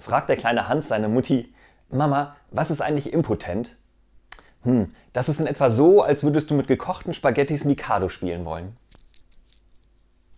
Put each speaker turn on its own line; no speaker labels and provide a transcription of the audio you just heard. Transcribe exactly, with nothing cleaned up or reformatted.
fragt der kleine Hans seine Mutti: Mama, was ist eigentlich impotent? Hm, das ist in etwa so, als würdest du mit gekochten Spaghettis Mikado spielen wollen.